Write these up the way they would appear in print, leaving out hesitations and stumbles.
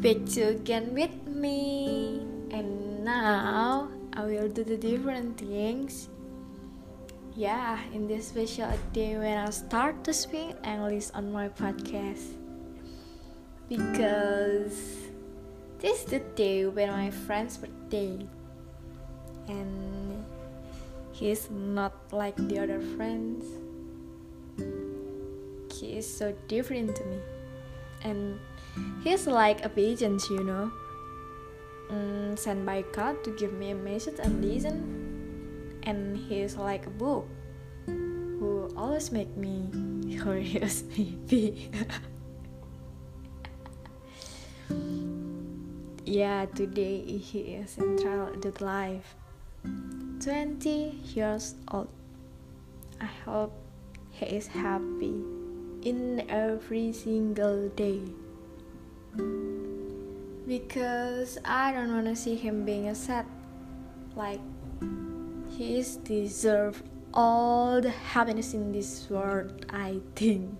Back to again with me. And now I will do the different things. Yeah, in this special day when I start to speak English on my podcast. Because this is the day when my friend's birthday. And he's not like the other friends. He is so different to me. And he's like a pigeon, sent by God to give me a message and listen. And he's like a book who always make me curious, maybe. Yeah, today he is central adult life. 20 years old. I hope he is happy in every single day, because I don't want to see him being sad. Like, he is deserve all the happiness in this world, I think.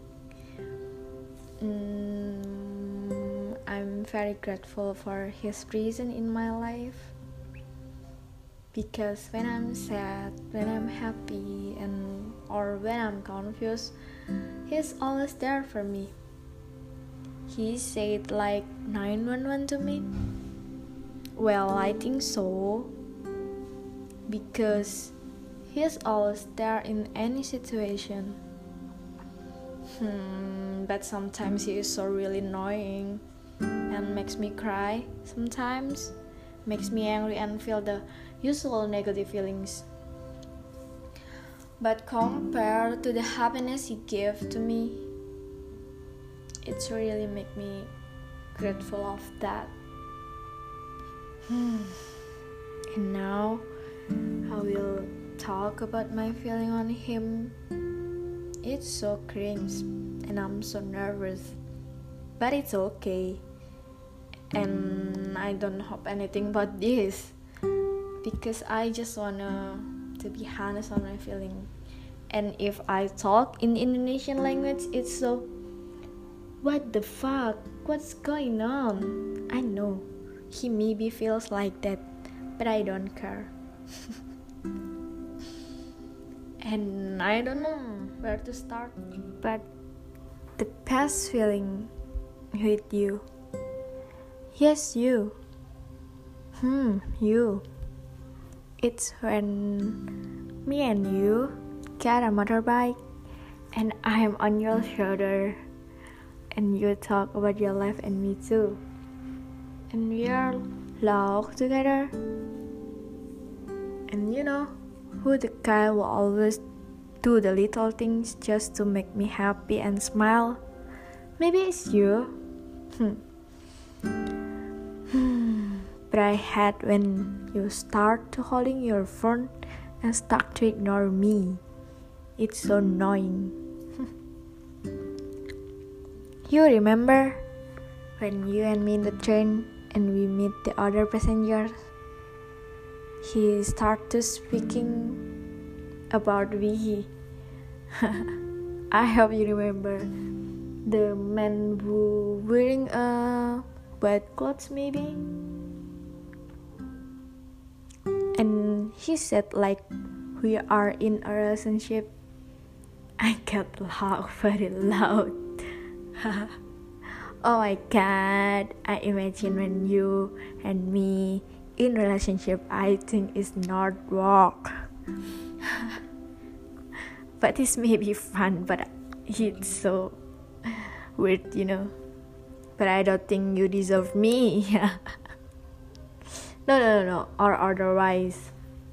I'm very grateful for his presence in my life, because when I'm sad, when I'm happy, or when I'm confused, he's always there for me. He said like 911 to me. Well, I think so, because he's always there in any situation. But sometimes he is so really annoying and makes me cry. Sometimes makes me angry and feel the usual negative feelings. But compared to the happiness he gave to me, it's really make me grateful of that. And now I will talk about my feeling on him. It's so cringe and I'm so nervous, but it's okay. And I don't hope anything about this, because I just wanna to be honest on my feeling. And if I talk in Indonesian language, it's so, what the fuck, what's going on? I know he maybe feels like that, but I don't care. And I don't know where to start, but the best feeling with you. Yes, you. You. It's when me and you get a motorbike and I'm on your shoulder and you talk about your life and me too. And we are laugh together. And you know who the guy will always do the little things just to make me happy and smile? Maybe it's you. But I hate when you start to holding your phone and start to ignore me. It's so annoying. You remember when you and me in the train and we meet the other passengers? He started speaking about we. I hope you remember the man who wearing a white clothes maybe. And he said like we are in a relationship. I got laugh very loud. Oh my god, I imagine when you and me in relationship, I think it's not work. But this may be fun, but it's so weird, But I don't think you deserve me. No, or otherwise.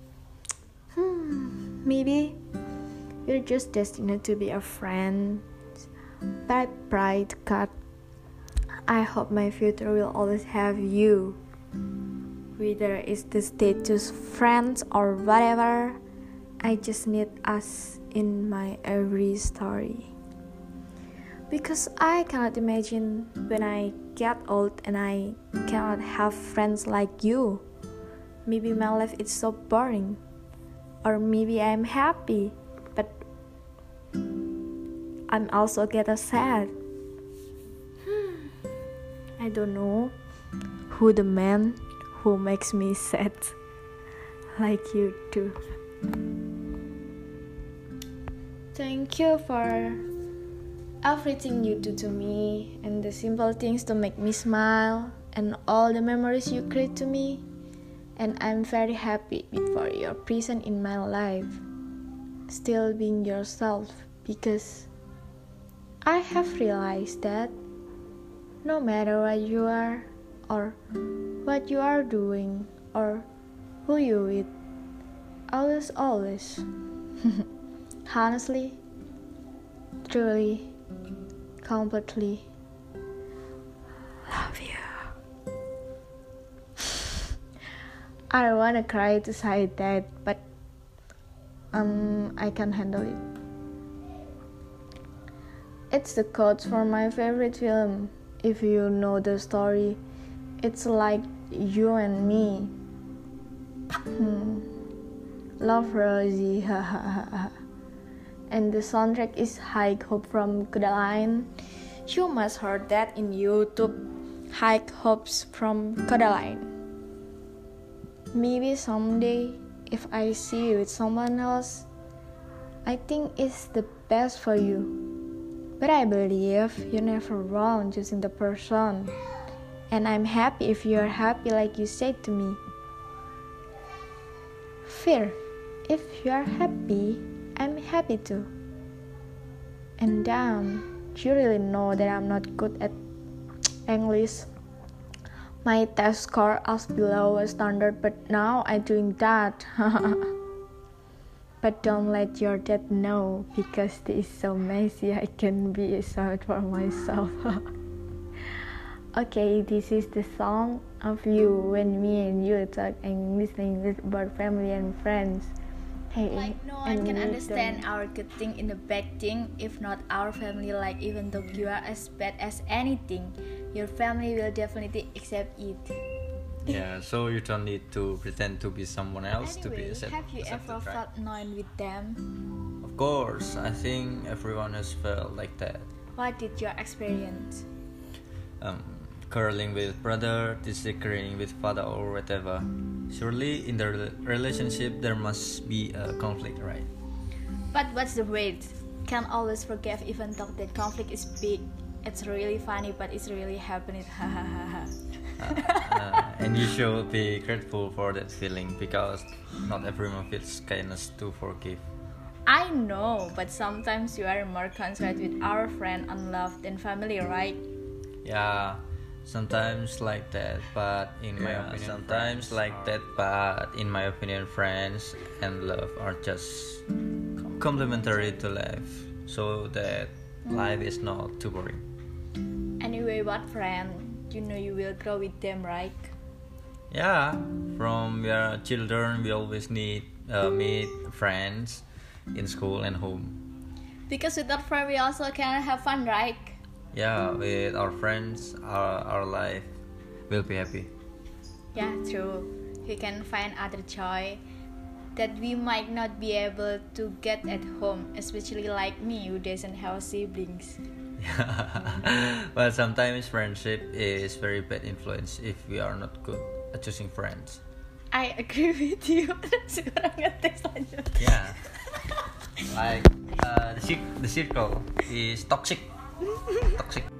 Maybe you're just destined to be a friend. But I pray to God, I hope my future will always have you. Whether it's the status friends or whatever, I just need us in my every story. Because I cannot imagine when I get old and I cannot have friends like you. Maybe my life is so boring. Or maybe I'm happy, but I'm also get sad. I don't know. Who the man who makes me sad like you do. Thank you for everything you do to me, and the simple things to make me smile, and all the memories you create to me. And I'm very happy for your presence in my life. Still being yourself, because I have realized that no matter what you are, or what you are doing, or who you with, always, honestly, truly, completely love you. I don't wanna cry to say that, but I can handle it. It's the quote for my favorite film. If you know the story, it's like you and me. Love Rosie, and the soundtrack is High Hope from Codaline. You must heard that in YouTube. High Hopes from Codaline. Maybe someday, if I see you with someone else, I think it's the best for you. But I believe you're never wrong choosing the person. And I'm happy if you're happy like you said to me. Fear, if you're happy, I'm happy too. And damn, you really know that I'm not good at English. My test score is below a standard, but now I'm doing that. But don't let your dad know, because this is so messy. I can be ashamed for myself. Okay, this is the song of you when me and you talk and listening about family and friends. Hey, like no one can understand our good thing in the bad thing, if not our family. Like even though you are as bad as anything, your family will definitely accept it. Yeah, so you don't need to pretend to be someone else to be accepted. Have you ever right? felt annoyed with them? Of course, I think everyone has felt like that. What did you experience? Quarreling with brother, disagreeing with father or whatever. Surely in the relationship there must be a conflict, right? But what's the weight? Can't always forgive even though that conflict is big. It's really funny, but it's really happening. And you should be grateful for that feeling, because not everyone feels kindness to forgive. I know, but sometimes you are more concerned with our friend and love than family, right? Yeah, sometimes like that, but in my opinion, friends and love are just complementary to life, so that life is not too boring. Anyway, what friend? You know you will grow with them, right? Yeah, from we are children, we always need meet friends in school and home. Because with our friend, we also can have fun, right? Yeah, with our friends, our life will be happy. Yeah, true. We can find other joy that we might not be able to get at home, especially like me who doesn't have siblings. But sometimes friendship is very bad influence if we are not good at choosing friends. I agree with you. Sekarang ngetes lanjut. Yeah, like the circle is toxic.